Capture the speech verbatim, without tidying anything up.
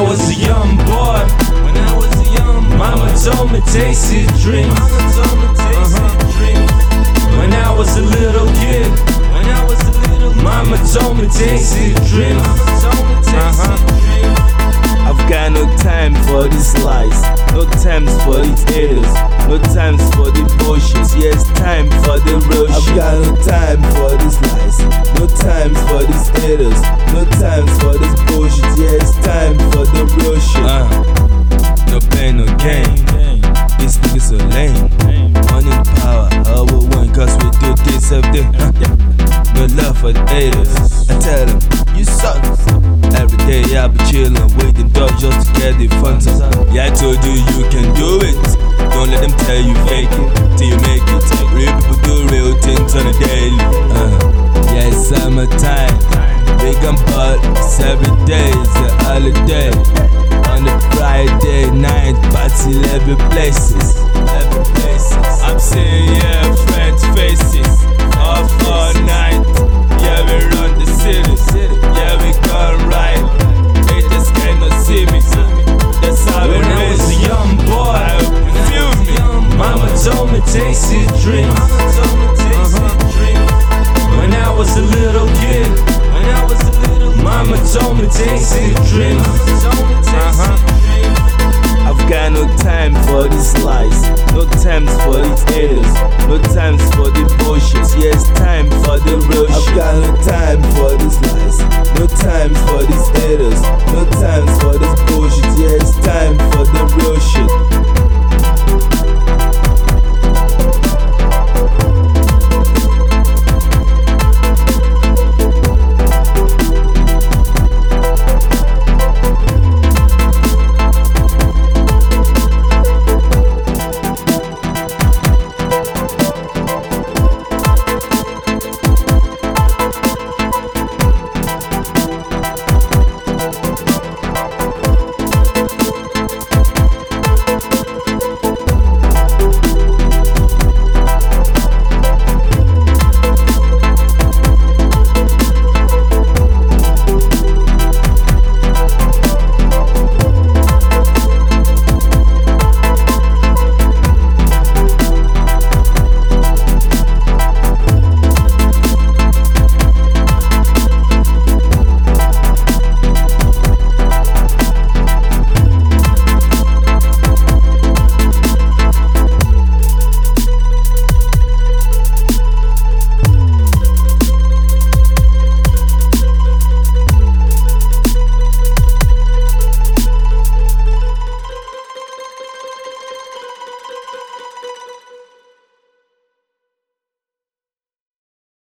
was a young boy, when I was a young boy, mama told me taste his dreams. Mama told me taste uh-huh. his dreams. When I was a little kid, when I was a little kid, mama told me taste his dreams. Mama told me taste uh-huh. his dreams. I've got no time for this lies, no times for these haters, no times for the bullshit. Yes, time for the real shit. I've got no time for these lies, no times for these haters, no times for this bullshit. Yes, time for the real shit. Uh, no pain, no gain. These niggas are lame. Money and power, all we want, cause we do this every day. Uh, no love for the haters. I tell them, you suck. Every day I be chillin', waiting door just to get the fun. Yeah, I told you you can do it. Don't let them tell you fake it till you make it. Real people do real things on a daily. Uh, yeah, it's summertime. Big and parties every day is a holiday.